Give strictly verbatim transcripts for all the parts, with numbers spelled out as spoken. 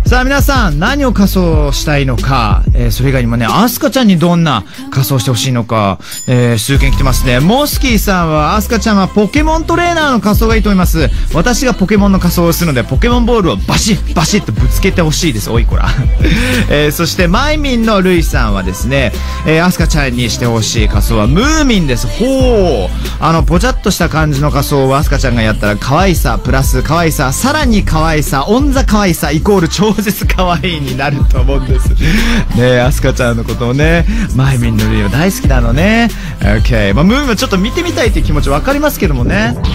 さあ皆さん、何を仮装したいのか、えー、それ以外にもね、アスカちゃんにどんな仮装してほしいのか、えー、数件来てますね。モスキーさんは、アスカちゃんはポケモントレーナーの仮装がいいと思います。私がポケモンの仮装をするので、ポケモンボールをバシッバシッとぶつけてほしいです。おいこら。えー、そしてマイミンのルイさんはですね、えー、アスカちゃんにしてほしい仮装はムーミンです。ほう。あの、ぽちゃっとした感じの仮装をアスカちゃんがやったら、可愛さ、プラス可愛さ、さらに可愛さ、オンザ可愛さ、イコール超絶可愛いになると思うんです。ねえ、アスカちゃんのことをね、マイミンのルイは大好きなのね。OK。まあ、ムーミンはちょっと見てみたいっていう気持ちわかりますけどもね。うん。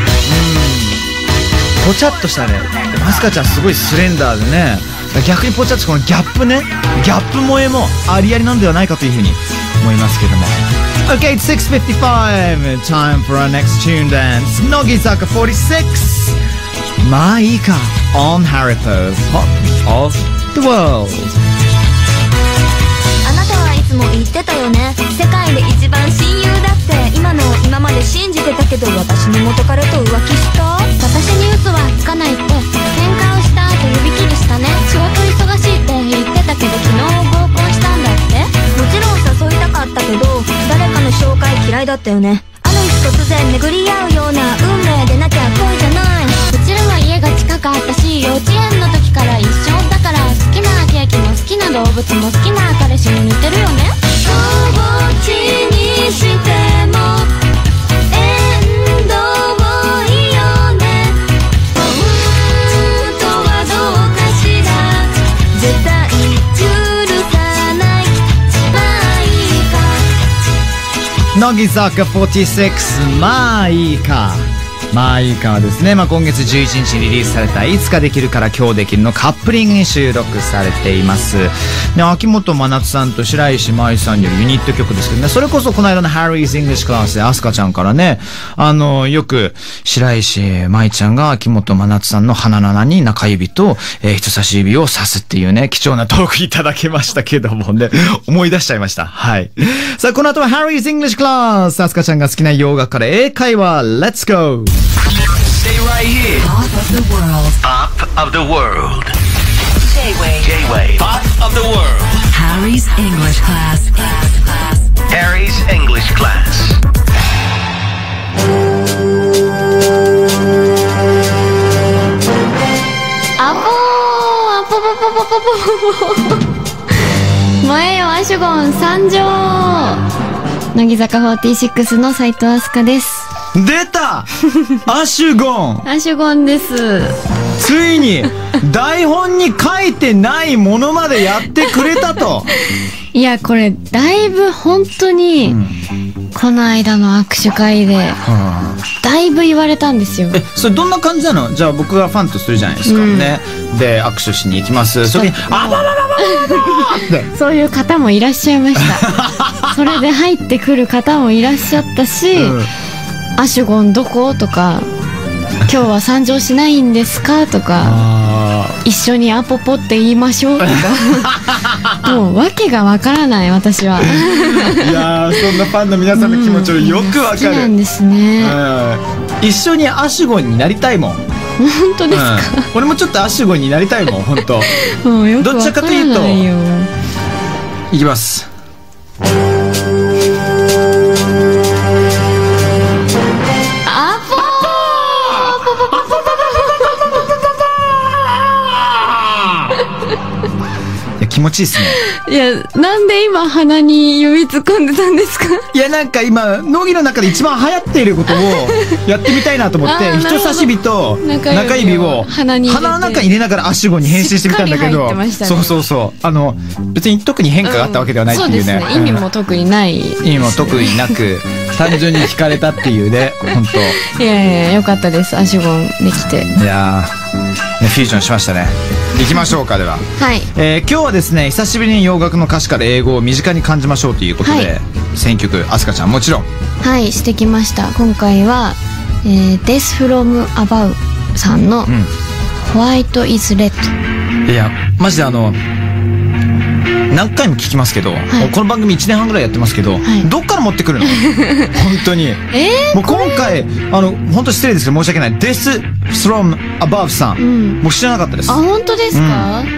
ぽちゃっとしたね。アスカちゃんすごいスレンダーでね。逆にぽちゃっとこのギャップね。ギャップ萌えもありありなんではないかというふうに思いますけども。Okay, it's six fifty-five. Time for our next tune dance. Nogizaka forty-six. まあいいか on Haripo Pop of the World。 あなたはいつも言ってたよね。世界で一番親友だって今の今まで信じてたけど、私の元彼と浮気した。私に嘘はつかないって。喧嘩をした後指切りしたね。仕事忙しいって言ってたけど、昨日合コンしたんだって。もちろん誘いたかったけど、誰かの紹介嫌いだったよね。ある日突然巡り合うような運命でなきゃ恋じゃない。うちらは家が近かったし、幼稚園の時から一緒だから、好きなケーキも好きな動物も好きな彼氏も似てるよね。どっちにしても縁遠いよね。本当はどうかしら、絶対許さない。まあいいか。 乃木坂フォーティーシックス、まあいいか。まあいいかはですね、まあ、今月じゅういちにちにリリースされたいつかできるから今日できるのカップリングに収録されています。で、秋元真夏さんと白石麻衣さんによるユニット曲ですけどね、それこそこの間の Harry's English Class でアスカちゃんからね、あの、よく白石麻衣ちゃんが秋元真夏さんの鼻の穴に中指と、えー、人差し指を刺すっていうね、貴重なトークいただきましたけどもね、思い出しちゃいました。はい。さあ、この後は Harry's English Class。アスカちゃんが好きな洋楽から英会話、Let's go! Stay right here. Pop of the world. Pop of the world. J-Wave. J-Wave. Pop of the world. Harry's English class. Harry's English class. 아뽀 아뽀 아뽀 아뽀 아뽀前よアシュゴン参上。乃木坂フォーティーシックスの斉藤飛鳥です。 出たアシュゴンアシュゴンです。 ついに台本に書いてないものまでやってくれたと。 いやこれだいぶ本当に、うん、この間の握手会で、はあ、だいぶ言われたんですよ。 え、それどんな感じなの？じゃあ僕がファンとするじゃないですか、うん、ね。で握手しに行きます。それにあばばばばばってそういう方もいらっしゃいましたそれで入ってくる方もいらっしゃったし、うん、アシュゴンどことか今日は参上しないんですかとか一緒にアポポって言いましょうとかもう訳がわからない私は。 いやー、そんなファンの皆さんの気持ちをよくわかる、うん、好きなんですね、 うん、一緒にアシュゴンになりたいもん。 本当ですか、 うん、俺もちょっとアシュゴンになりたいもん本当。 もうよくわからないよ。 どっちかというといきます。気持ちいいですね。 いや、なんで今鼻に指突っ込んでたんですか？ いや、なんか今乃木の中で一番流行っていることをやってみたいなと思って人差し指と中指を鼻の中に入れながらアシュゴンに変身してみたんだけど、ね、そうそうそう、あの別に特に変化があったわけではないっていうね、うん、そうですね、 意味も特にない、 意味も特になく単純に惹かれたっていうね、本当。 いやいや、よかったです、アシュゴンできて。 いやー、ね、フュージョンしましたね。行きましょうか。では、 はい、えー、今日はですね、久しぶりに洋楽の歌詞から英語を身近に感じましょうということで、はい、選曲アスカちゃんもちろんはいしてきました。今回は、えー、Death from Above さんの、うん、White is Red。 いやマジであの何回も聞きますけど、はい、この番組いちねんはんぐらいやってますけど、はい、どっから持ってくるの本当に、 えー、 もう今回あの本当失礼ですけど申し訳ない。Death from Above さん、うん、もう知らなかったです。 あ、本当ですか、うん、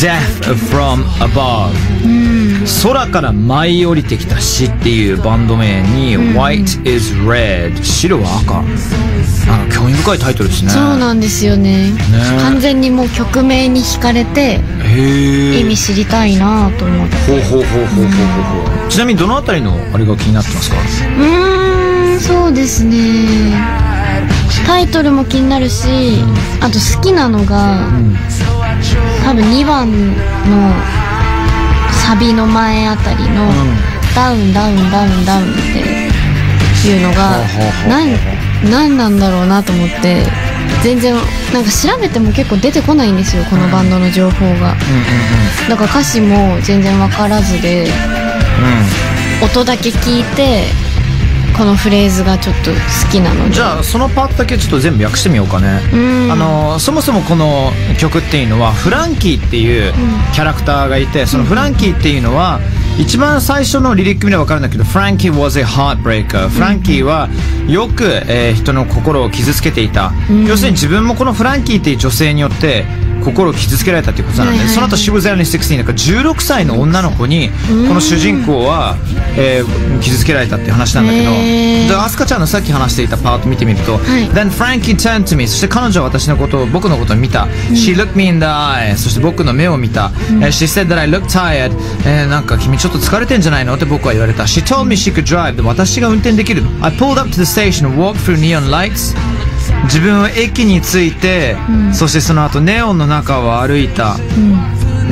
Death from Above、空から舞い降りてきた死っていうバンド名に、White is Red、 白は赤。なんか興味深いタイトルですね。 そうなんですよ ね, ね完全にもう曲名に惹かれて、へ意味知りたいなと思って。 ほうほうほうほうほうほうほう。ちなみにどのあたりのあれが気になってますか？ うーんそうですね、タイトルも気になるし、あと好きなのが、うん、多分にばんのサビの前あたりの、うん、ダウンダウンダウンダウンっていうのが何何なんだろうなと思って、全然なんか調べても結構出てこないんですよ、このバンドの情報が。だから歌詞も全然わからずで、うん、音だけ聞いてこのフレーズがちょっと好きなので。 じゃあそのパートだけちょっと全部訳してみようかね。あのそもそもこの曲っていうのはフランキーっていうキャラクターがいて、そのフランキーっていうのは一番最初のリリック見れば分かるんだけど、フランキー was a heartbreaker。 フランキーはよく、えー、人の心を傷つけていた、うん、要するに自分もこのフランキーっていう女性によって心を傷つけられたっていうことなんで、はいはいはい、その後 She was only sixteen だからじゅうろくさいの女の子にこの主人公は、えー、傷つけられたっていう話なんだけど、じゃあアスカちゃんのさっき話していたパート見てみると、はい、Then Frankie turned to me、 そして彼女は私のことを僕のことを見た、うん、She looked me in the eye、 そして僕の目を見た、うん、She said that I look tired、えー、なんか君ちょっと疲れてんじゃないのって僕は言われた。 She told me she could drive、 で私が運転できる。 I pulled up to the station and walked through neon lights、自分は駅に着いて、うん、そしてその後ネオンの中を歩いた、うん、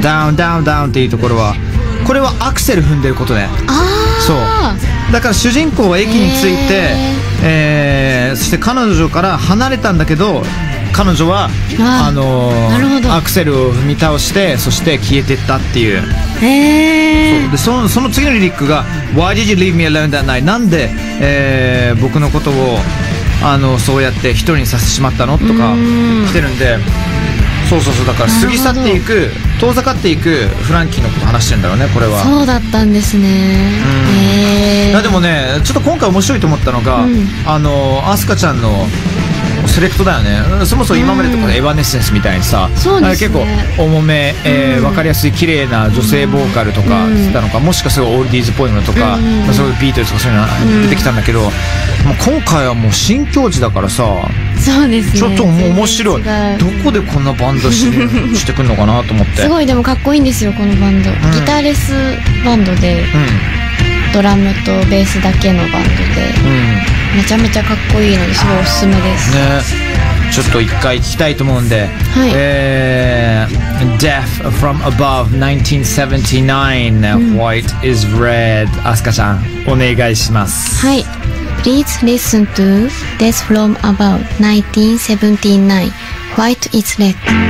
ダウンダウンダウンっていうところは、これはアクセル踏んでることね。 あそうだから主人公は駅に着いて、えー、そして彼女から離れたんだけど、彼女はあ、あのー、アクセルを踏み倒して、そして消えてったっていう。 へー。 そうで、その、その次のリリックが Why did you leave me alone that night、 なんで、えー、僕のことをあのそうやって一人にさせてしまったのとか来てるんで、そうそうそう、だから過ぎ去っていく、遠ざかっていくフランキーのこと話してるんだろうね、これは。 そうだったんですね。へー。 いやでもね、ちょっと今回面白いと思ったのが、うん、あのアスカちゃんのセレクトだよね。そもそも今までとかでエバネッセンスみたいにさ、 そうですね、 結構重め、えーうん、分かりやすい綺麗な女性ボーカルとかしてたのか、もしかするとオールディーズっぽいものとか、うんまあ、そういうビートルズとかそういうのが出てきたんだけど、うん、もう今回はもう新境地だからさ、 そうですね、 ちょっともう面白い。どこでこんなバンドししてくんのかなと思って。 すごいでもかっこいいんですよこのバンド、うん、ギターレスバンドで、うん、ドラムとベースだけのバンドで、うん、めちゃめちゃかっこいいのですごいおすすめですね。ちょっと一回聞きたいと思うんで、はい、えー、Death from Above ナインティーンセブンティナイン、うん、White is Red、 アスカちゃんお願いします。 はい、 Please listen to Death from Above ナインティーンセブンティナイン White is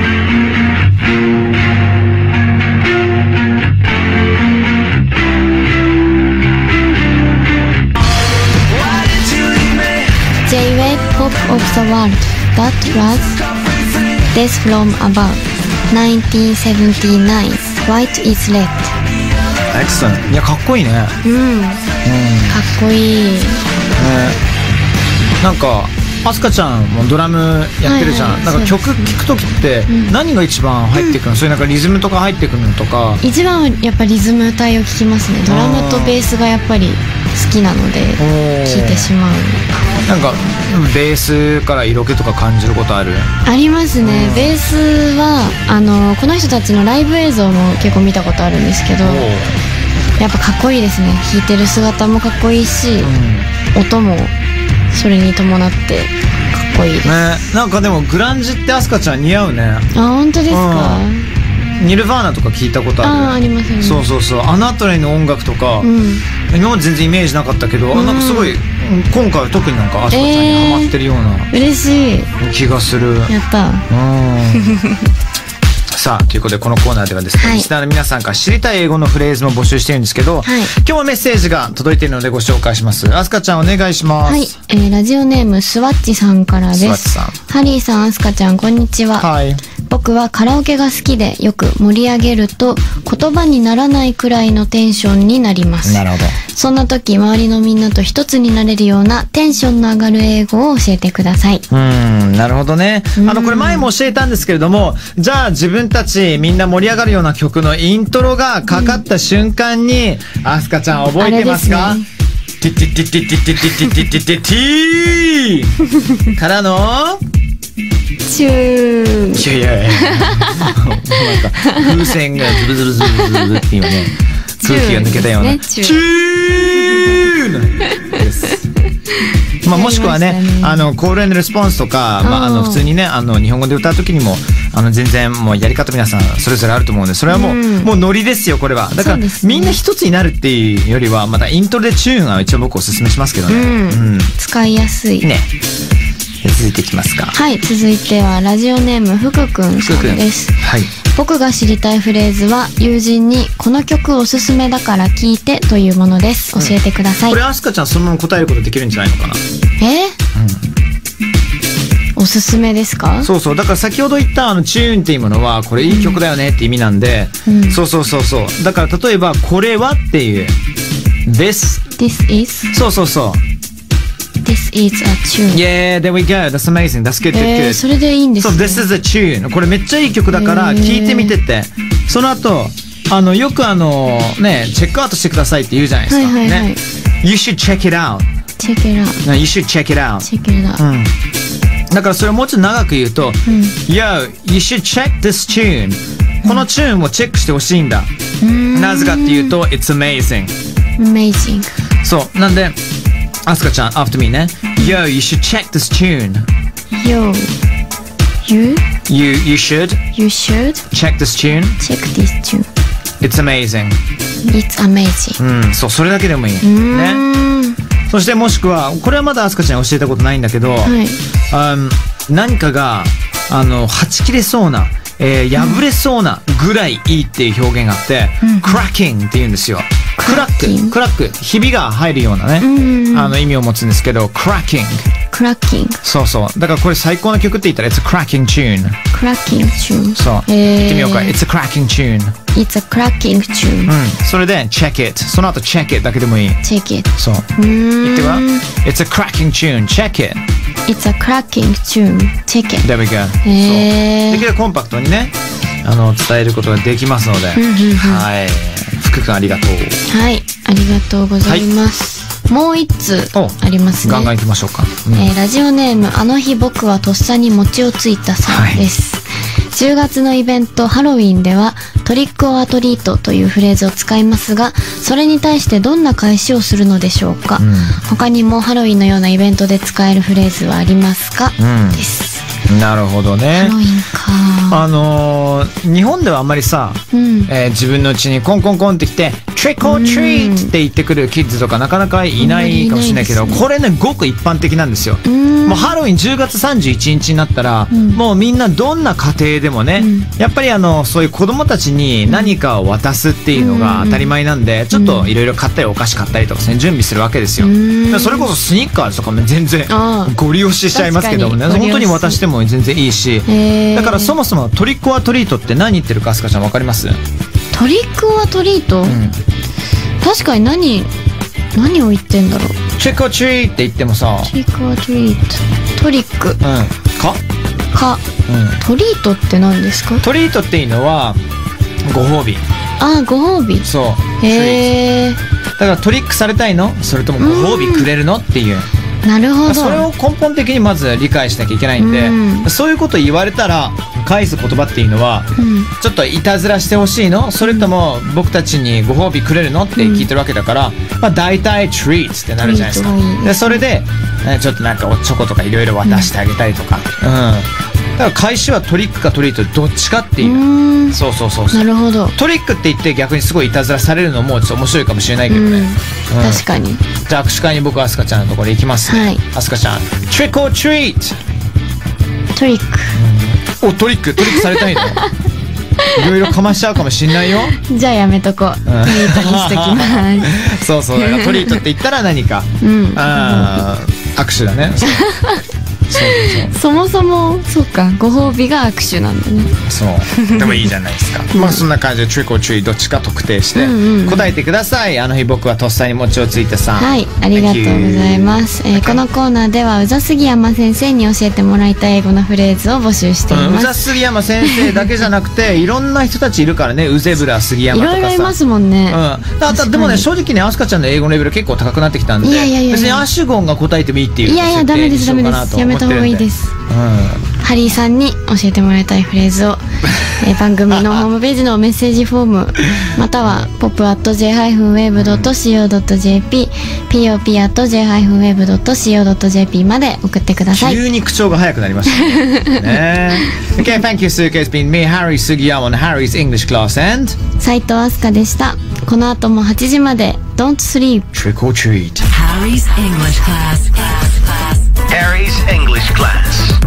Red。J-Wave Pop of the World That was Death from Above ナインティーンセブンティナイン White is Red。 Excellent。 いやかっこいいね。 うん、うん、かっこいい、ね、 なんかアスカちゃんもドラムやってるじゃん、はいはい、なんか曲聴くときって何が一番入ってくるの、うん、そういうなんかリズムとか入ってくるのとか。 一番はやっぱリズム体を聴きますね。ドラムとベースがやっぱり好きなので聴いてしまう。 なんかベースから色気とか感じることある？ ありますね、うん、ベースはあのこの人たちのライブ映像も結構見たことあるんですけど、やっぱかっこいいですね。弾いてる姿もかっこいいし、うん、音もそれに伴ってかっこいいです、ね、 なんかでもグランジってアスカちゃん似合うね。 あ、本当ですか？ うん、ニルヴァーナとか聞いたことある？ あ、ありますよね。 そうそうそう、あのあたりの音楽とか、うん、今まで全然イメージなかったけど、うん、なんかすごい今回は特になんかアスカちゃんにハマってるような、 えー、嬉しい気がする。 やった。うんさあということでこのコーナーではですね、はい、リスナーの皆さんから知りたい英語のフレーズも募集してるんですけど、はい、今日もメッセージが届いているのでご紹介します。アスカちゃんお願いします。 はい、えー、ラジオネームスワッチさんからです。スワッチさん、ハリーさん、アスカちゃんこんにちは。はい、 僕はカラオケが好きでよく盛り上げると言葉にならないくらいのテンションになります。 なるほど。 そんな時周りのみんなと一つになれるようなテンションの上がる英語を教えてください。 うーん、なるほどね。あの、これ前も教えたんですけれども、じゃあ自分たちみんな盛り上がるような曲のイントロがかかった瞬間に、アスカちゃん覚えてますか？ティティティティティティティティティティティティからのチュー。 いやいやいやもうなんか風船がズルズルズルズルって今ね空気が抜けたようなチューチューです。まあ、もしくはね、あのコール&レスポンスとか、まあ、あの普通にね、あの日本語で歌う時にもあの全然もうやり方皆さんそれぞれあると思うんで、それはもう、うん、もうノリですよこれは。だから、ね、みんな一つになるっていうよりはまたイントロでチューンは一応僕おすすめしますけどね、うんうん、使いやすいね。 続いていきますか。 はい、続いてはラジオネーム福くんさんです。 はい、 僕が知りたいフレーズは友人にこの曲おすすめだから聴いてというものです。教えてください。 うん、これアスカちゃんそのまま答えることできるんじゃないのかな。 え、うん、おすすめですか？ そうそう、だから先ほど言ったあのチューンっていうものはこれいい曲だよねって意味なんで、うん、そうそうそうそう、だから例えばこれはっていう This This is そうそうそう This is a tune. Yeah, there we go. That's amazing. That's good, good, good. えー、それでいいんですね。 そう、This is a tune. これめっちゃいい曲だから聞いてみてって。その後、あの、よくあの、ね、チェックアウトしてくださいって言うじゃないですか。はいはいはい、ね。You should check it out. Check it out. You should check it out. Check it out. うん。だからそれをもうちょっと長く言うと、うん、Yo, you should check this tune. このチューンをチェックしてほしいんだ。なぜかっていうと、It's amazing. Amazing. そう。なんで、アスカちゃん、after me ね。Yo, you should check this tune. Yo, you? You, you should. You should. Check this tune. Check this tune. It's amazing. It's amazing. うん、そう、それだけでもいい。ね。そしてもしくは、これはまだアスカちゃんに教えたことないんだけど、はい、um, 何かが、あの、はち切れそうな、えー、破れそうなぐらいいいっていう表現があって、うん、cracking って言うんですよ。クラック、クラック、ひびが入るようなね、うん、あの意味を持つんですけど、cracking。 cracking。 そうそう。だからこれ最高の曲って言ったら、it's a cracking tune。 cracking tune。 そう。言ってみようか。it's a cracking tune。 it's a cracking tune。 うん。それで、check it。その後、check it だけでもいい。 check it。 そう。言っては it's a cracking tune。check it。it's a cracking tune。check it。 there we go。そう。できるコンパクトにね、あの、伝えることができますので、はい。福君ありがとう。 はい、ありがとうございます。はい、もう一通ありますね。 ガンガン行きましょうか。 うん、えー、ラジオネームあの日僕はとっさに餅をついたさんです。はい、じゅうがつのイベントハロウィンではトリックオアトリートというフレーズを使いますが、それに対してどんな返しをするのでしょうか。うん、他にもハロウィンのようなイベントで使えるフレーズはありますか、うん、です。 なるほどね。 ハロウィンか。 あのー、日本ではあんまりさ、うん、えー、自分の家にコンコンコンって来て Trick or treat って言ってくるキッズとかなかなかいないかもしれないけど、ね、これねごく一般的なんですよ。もうハロウィンじゅうがつさんじゅういちにちになったら、うん、もうみんなどんな家庭でもね、うん、やっぱりあのそういう子供たちに何かを渡すっていうのが当たり前なんで、うん、ちょっといろいろ買ったりお菓子買ったりとか、ね、準備するわけですよ。うん、それこそスニッカーズとかも全然ご利用ししちゃいますけどもね、本当に渡しても全然いいし、だからそもそもトリックオアトリートって何言ってるかアスカちゃん分かります？ トリックオアトリート、うん、確かに何何を言ってんだろう。 トリックオアトリーって言ってもさ、 トリックオアトリート、トリック、うん、 かか、うん、トリートって何ですか？ トリートっていうのはご褒美。 ああ、ご褒美。 そう。 へえ。 だからトリックされたいの？それともご褒美くれるのっていう。 なるほど。 それを根本的にまず理解しなきゃいけないんで、うん、そういうこと言われたら返す言葉っていうのは、うん、ちょっといたずらしてほしいの？それとも僕たちにご褒美くれるのって聞いてるわけだから、うん、まあ大体 treats ってなるじゃないですか。いいでそれでちょっとなんかおチョコとかいろいろ渡してあげたりとか、うんうん、だから返しはトリックかトリートどっちかっていう。うそうそうそうそう。 なるほど。 トリックって言って逆にすごいいたずらされるのもちょっと面白いかもしれないけどね。うんうん、 確かに。 じゃあ握手会に僕はアスカちゃんのところに行きます、ね。はい。アスカちゃん、Trick or treat。 トリック。 うん、おトリックトリックされたいの？いろいろかましちゃうかもしんないよ。 じゃあやめとこう。トリートにしときます。 そうそう。だからトリートって言ったら何か。うん。ああ、握手だね。 そもそもそうか、ご褒美が握手なんだね。 そうでもいいじゃないですか。まあそんな感じでトリックオートリートどっちか特定して答えてください。あの日僕はとっさに餅をついてさん。 はい、ありがとうございます。えー、このコーナーでは宇佐杉山先生に教えてもらいたい英語のフレーズを募集しています。 うん、宇佐杉山先生だけじゃなくていろんな人たちいるからね。ウゼブラ杉山とかさ、 いろいろいますもんね。 うん、あとでもね、正直ね、アスカちゃんの英語のレベル結構高くなってきたんで、 いやいやいやいや、 別にアシュゴンが答えてもいいっていういやいや、ダメですダメです、やめた方がいいです。 うん、 ハリーさんに教えてもらいたいフレーズを、えー、番組のホームページのメッセージフォームまたは ポップ アット ジェイ ハイフン ウェーブ ドット シーオー ドット ジェーピー ポップ アット ジェイ ハイフン ウェーブ ドット シーオー ドット ジェーピー まで送ってください。 急に口調が早くなりましたね。ねOkay, thank you, Suka. It's been me, Harry Sugiyama, on Harry's English class, and 斉藤飛鳥でした。この後もはちじまで Don't sleep. Trick or treat. Harry's English class. Harry's English class.